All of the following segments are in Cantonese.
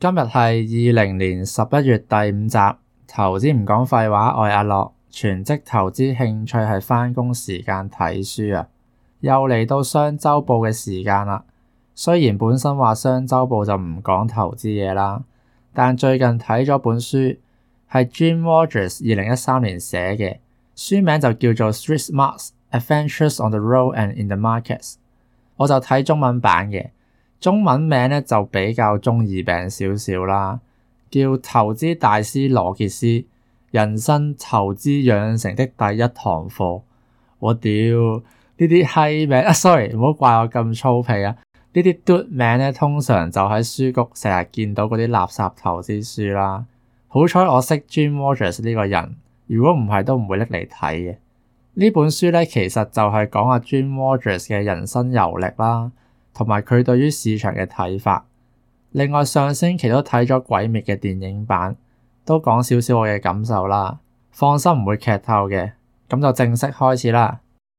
今日係20年11月第5集，投資唔講廢話，我係阿樂，全職投資興趣係返工時間睇書啊。又嚟到雙週報嘅時間啦。雖然本身話雙週報就唔講投資嘢啦，但最近睇咗本書，係 Jim Rogers 2013年寫嘅，書名就叫做 Street Smarts: Adventures on the Road and in the Markets。我就睇中文版嘅。中文名咧就比較中二病少少啦，叫投資大師羅傑斯人生投資養成的第一堂課。我屌呢啲閪名，sorry 唔好怪我咁粗鄙啊！呢啲嘟名咧通常就喺書局成日見到嗰啲垃圾投資書啦。好彩我識 Jim Rogers 呢個人，如果唔係都唔會拎嚟睇嘅。呢本書咧其實就係講阿 Jim Rogers 嘅人生遊歷啦。同埋佢對於市場嘅睇法。另外上星期都睇咗《鬼滅》嘅電影版，都講少少我嘅感受啦。放心唔會劇透嘅，咁就正式開始啦。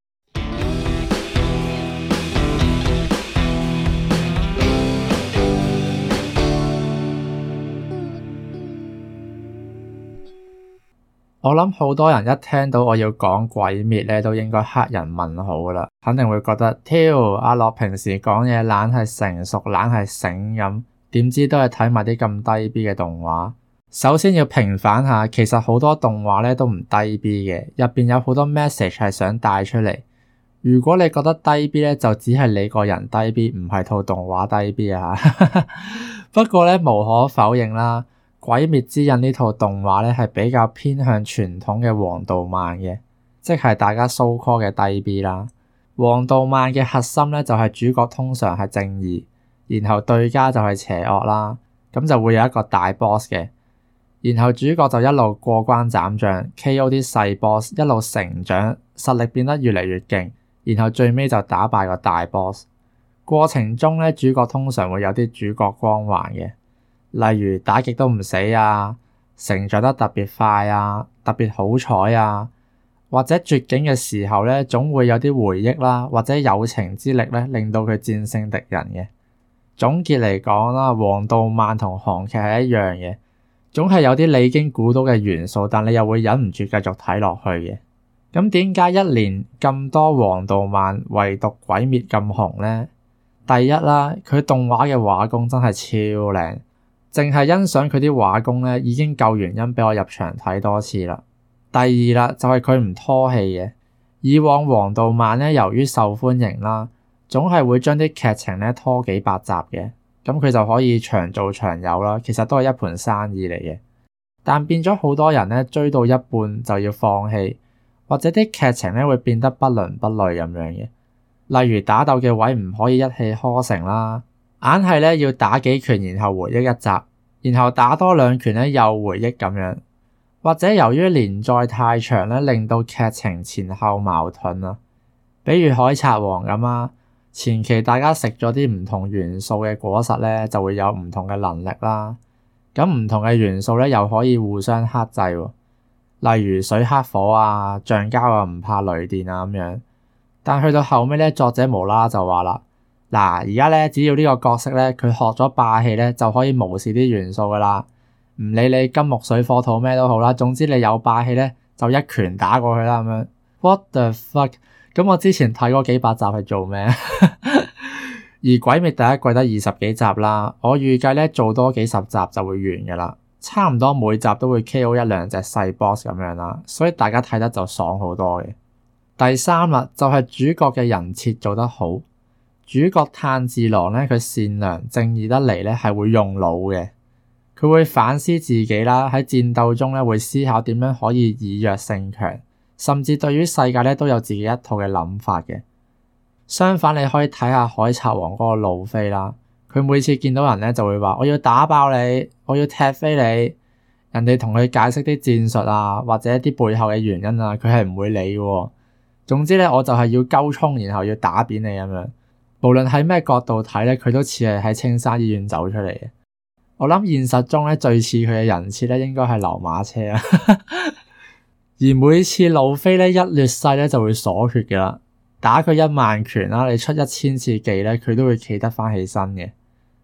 我諗好多人一聽到我要講鬼滅咧，都應該黑人問號噶啦，肯定會覺得挑阿樂平時講嘢懶係成熟，懶係醒咁，點知都係睇埋啲咁低 B 嘅動畫。首先要平反下，其實好多動畫咧都唔低 B 嘅，入邊有好多 message 係想帶出嚟。如果你覺得低 B 咧，就只係你個人低 B，唔係套動畫低 B 啊。不過咧無可否認啦。《鬼滅之刃》呢套動畫咧係比較偏向傳統嘅王道漫嘅，即係大家 so call 嘅低 B 啦。王道漫嘅核心咧就係主角通常係正義，然後對家就係邪惡啦，咁就會有一個大 boss 嘅，然後主角就一路過關斬將 KO 啲細 boss， 一路成長，實力變得越嚟越勁，然後最尾就打敗個大 boss。過程中咧主角通常會有啲主角光環嘅。例如打極都唔死啊，成長得特別快啊，特別好彩啊，或者絕境嘅時候咧，總會有啲回憶啦，或者友情之力咧，令到佢戰勝敵人嘅。總結嚟講啦，王道漫同韓劇係一樣嘅，總係有啲你已經估到嘅元素，但你又會忍唔住繼續睇落去嘅。咁點解一年咁多王道漫，唯獨鬼滅咁紅咧？第一啦，佢動畫嘅畫工真係超靚。淨係欣賞佢啲畫工咧，已經夠原因俾我入場睇多次啦。第二啦，就係佢唔拖戲嘅。以往王道漫咧，由於受歡迎啦，總係會將啲劇情咧拖幾百集嘅，咁佢就可以長做長有啦。其實都係一盤生意嚟嘅。但變咗好多人咧，追到一半就要放棄，或者啲劇情咧會變得不倫不類咁樣嘅。例如打鬥嘅位唔可以一氣呵成啦。硬係咧要打幾拳，然後回憶一集，然後打多兩拳咧又回憶咁樣，或者由於連載太長咧，令到劇情前後矛盾啊。比如海賊王咁啊，前期大家食咗啲唔同元素嘅果實咧，就會有唔同嘅能力啦。咁唔同嘅元素咧又可以互相克制喎，例如水克火啊，橡膠啊唔怕雷電啊咁樣。但去到後尾咧，作者無啦啦就話啦。嗱，而家咧只要呢個角色咧，佢學咗霸氣咧，就可以無視啲元素噶啦。唔理你金木水火土咩都好啦，總之你有霸氣咧，就一拳打過去啦咁樣。What the fuck？ 咁我之前睇嗰幾百集係做咩？而鬼滅第一季得20幾集啦，我預計咧做多幾十集就會完噶啦，差唔多每集都會 KO 一兩隻細 boss 咁樣啦，所以大家睇得就爽好多嘅。第三啦，就係主角嘅人設做得好。主角炭治郎咧，佢善良正義得嚟咧，係會用腦嘅。佢會反思自己啦，喺戰鬥中咧會思考點樣可以以弱勝強，甚至對於世界咧都有自己一套嘅諗法嘅。相反，你可以睇下海賊王嗰個路飛啦，佢每次見到人咧就會話：我要打爆你，我要踢飛你。人哋同佢解釋啲戰術啊，或者一啲背後嘅原因啊，佢係唔會理嘅。總之咧，我就係要鳩衝，然後要打扁你咁樣。無論喺咩角度睇咧，佢都似係喺青山醫院走出嚟嘅。我諗現實中咧最似佢嘅人設咧，應該係流馬車啊。而每次路飛咧一劣勢咧就會鎖血㗎啦，打佢1萬拳啦，你出1000次技咧，佢都會企得翻起身嘅。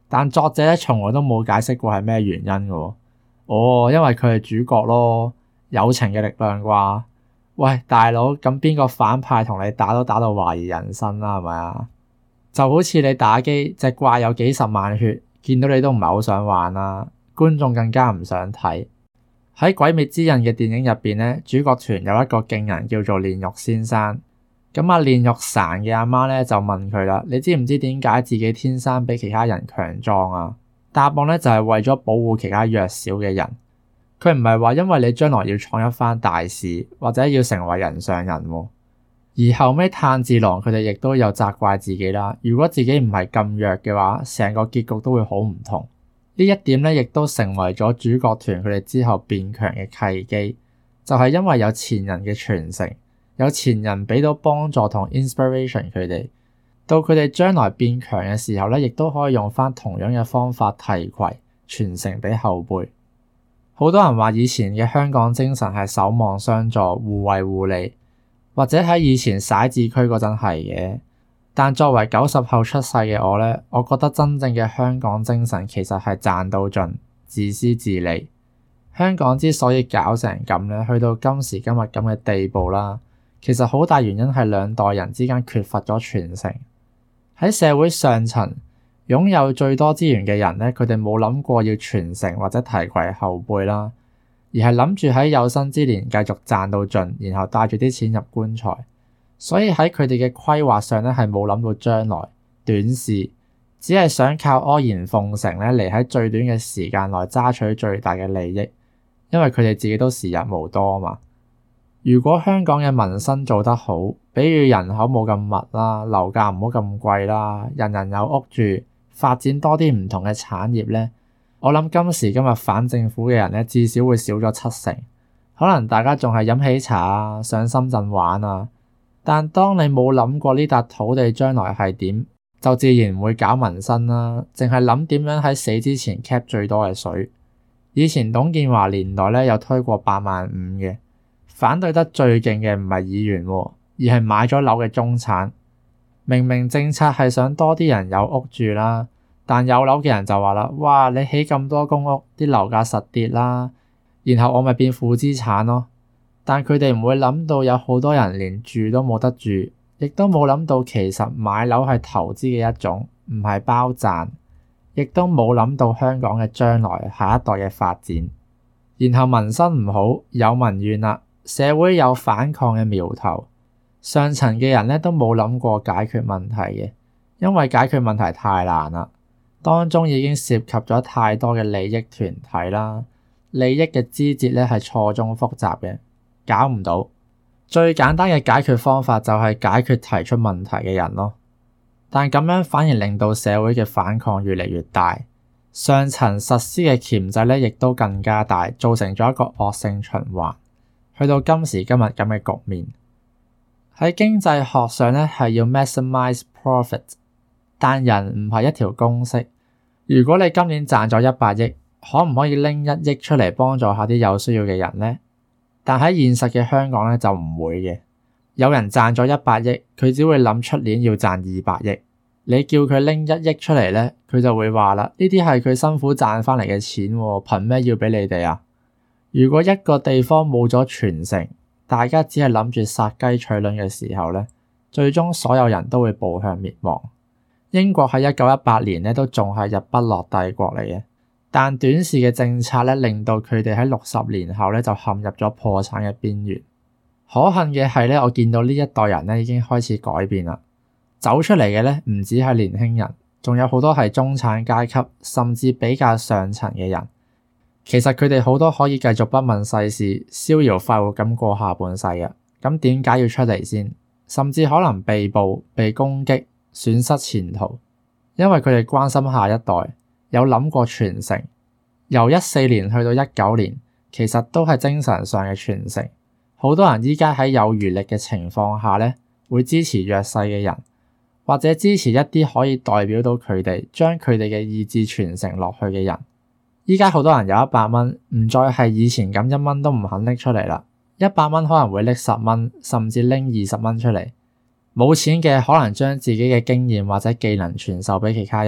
但作者咧從來都冇解釋過係咩原因嘅。因為佢係主角咯，友情嘅力量啩？喂，大佬，咁邊個反派同你打都打到懷疑人生啦，係咪啊？就好似你打機，隻怪有幾十萬血，見到你都唔係好想玩啦，觀眾更加唔想睇。喺《鬼滅之刃》嘅電影入邊咧，主角團有一個勁人叫做煉獄先生。咁煉獄傘嘅阿媽咧就問佢啦：你知唔知點解自己天生比其他人強壯啊？答案咧就係為咗保護其他弱小嘅人。佢唔係話因為你將來要創一番大事，或者要成為人上人喎。而後尾炭治郎佢哋亦都有責怪自己啦。如果自己唔係咁弱嘅話，成個結局都會好唔同。呢一點咧亦都成為咗主角團佢哋之後變強嘅契機，就係因為有前人嘅傳承，有前人俾到幫助同 inspiration 佢哋，到佢哋將來變強嘅時候咧，亦都可以用翻同樣嘅方法提攜傳承俾後輩。好多人話以前嘅香港精神係守望相助、互惠互利，或者喺以前徙置區嗰陣係嘅。但作為90後出世嘅我咧，我覺得真正嘅香港精神其實係賺到盡、自私自利。香港之所以搞成咁咧，去到今時今日咁嘅地步啦，其實好大原因係兩代人之間缺乏咗傳承。喺社會上層擁有最多資源嘅人咧，佢哋冇諗過要傳承或者提攜後輩啦，而係諗住喺有生之年繼續賺到盡，然後帶住啲錢入棺材。所以喺佢哋嘅規劃上咧，係冇諗到將來短視，只係想靠阿諛奉承咧嚟喺最短嘅時間內揸取最大嘅利益，因為佢哋自己都時日無多啊嘛。如果香港嘅民生做得好，比如人口冇咁密啦，樓價唔好咁貴啦，人人有屋住，發展多啲唔同嘅產業咧，我諗今時今日反政府嘅人咧，至少會少咗70%。可能大家仲係飲喜茶啊，上深圳玩啊，但當你冇諗過呢笪土地將來係點，就自然唔會搞民生啦，淨係諗點樣喺死之前 cap 最多嘅水。以前董建華年代咧有推過85000嘅，反對得最勁嘅唔係議員喎，而係買咗樓嘅中產。明明政策係想多啲人有屋住啦，但有樓嘅人就話啦：哇，你起咁多公屋，啲樓價實跌啦，然後我咪變負資產咯。但佢哋唔會諗到有好多人連住都冇得住，亦都冇諗到其實買樓係投資嘅一種，唔係包賺，亦都冇諗到香港嘅將來下一代嘅發展。然後民生唔好，有民怨啦，社會有反抗嘅苗頭，上層嘅人咧都冇諗過解決問題嘅，因為解決問題太難啦，當中已經涉及咗太多嘅利益團體啦，利益嘅枝節咧係錯綜複雜嘅，搞唔到。最簡單嘅解決方法就係解決提出問題嘅人咯，但咁樣反而令到社會嘅反抗越嚟越大，上層實施嘅鉗制咧亦都更加大，造成咗一個惡性循環，去到今時今日咁嘅局面。喺經濟學上咧係要 maximize profit， 但人唔係一條公式。如果你今年賺咗100億，可唔可以拎1億出嚟幫助下啲有需要嘅人咧？但喺現實嘅香港咧就唔會嘅。有人賺咗100億，佢只會諗出年要賺200億。你叫佢拎1億出嚟咧，佢就會話啦：呢啲係佢辛苦賺翻嚟嘅錢喎，憑咩要俾你哋啊？如果一個地方冇咗傳承，大家只係諗住殺雞取卵嘅時候咧，最終所有人都會步向滅亡。英國喺1918年咧都仲係日不落帝國嚟嘅，但短視嘅政策咧令到佢哋喺60年後咧就陷入咗破產嘅邊緣。可恨嘅係咧，我見到呢一代人咧已經開始改變啦，走出嚟嘅咧唔止係年輕人，仲有好多係中產階級，甚至比較上層嘅人。其實佢哋好多可以繼續不問世事，逍遙快活咁過下半世嘅，咁點解要出嚟先？甚至可能被捕、被攻擊、損失前途，因為佢哋關心下一代，有諗過傳承。由14年去到19年，其實都係精神上嘅傳承。好多人依家喺有餘力嘅情況下咧，會支持弱勢嘅人，或者支持一啲可以代表到佢哋，將佢哋嘅意志傳承落去嘅人。依家好多人有100蚊，唔再係以前咁1蚊都唔肯拎出嚟啦。100蚊可能會拎10蚊，甚至拎20蚊出嚟。冇錢嘅可能將自己嘅經驗或者技能傳授俾其他人，好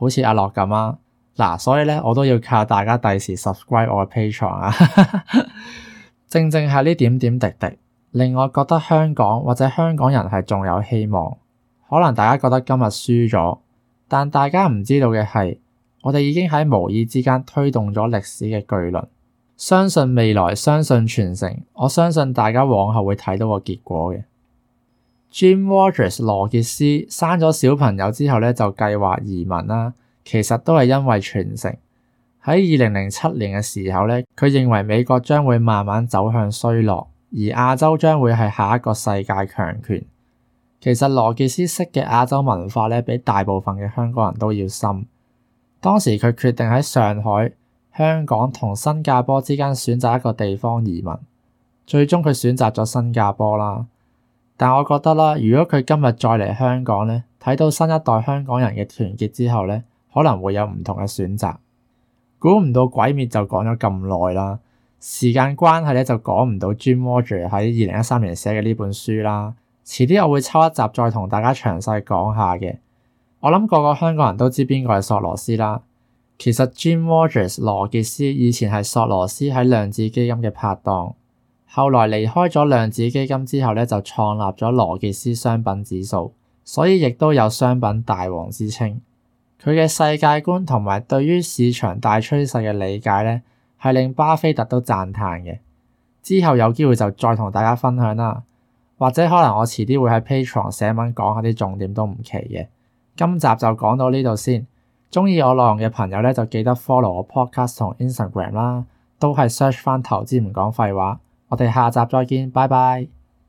好似阿樂咁啊。嗱，所以咧我都要靠大家第時 subscribe 我嘅 Patreon 啊。正正係呢點點滴滴，令我覺得香港或者香港人係仲有希望。可能大家覺得今日輸咗，但大家唔知道嘅係，我哋已經喺無意之間推動咗歷史嘅巨輪。相信未來，相信傳承，我相信大家往後會睇到個結果嘅。Jim Rogers 羅傑斯生咗小朋友之後咧，就計劃移民啦。其實都係因為傳承。喺2007年嘅時候咧，佢認為美國將會慢慢走向衰落，而亞洲將會係下一個世界強權。其實羅傑斯識嘅亞洲文化咧，比大部分嘅香港人都要深。當時佢決定喺上海、香港同新加坡之間選擇一個地方移民，最終佢選擇咗新加坡啦。但我覺得啦，如果佢今日再嚟香港咧，睇到新一代香港人嘅團結之後咧，可能會有唔同嘅選擇。估唔到鬼滅就講咗咁耐啦，時間關係咧就講唔到 Jim Rogers 喺2013年寫嘅呢本書啦。遲啲我會抽一集再同大家詳細講下嘅。我諗個個香港人都知邊個係索羅斯啦。其實 Jim Rogers 羅傑斯以前係索羅斯喺量子基金嘅拍檔，後來離開咗量子基金之後咧，就創立咗羅傑斯商品指數，所以亦都有商品大王之稱。佢嘅世界觀同埋對於市場大趨勢嘅理解咧，係令巴菲特都讚嘆嘅。之後有機會就再同大家分享啦，或者可能我遲啲會喺 Patreon 寫文講下啲重點都唔奇嘅。今集就講到呢度先。鍾意我內容嘅朋友咧，就記得 follow 我 podcast 同 Instagram 啦，都係 search 翻投資唔講廢話。我哋下集再見，拜拜。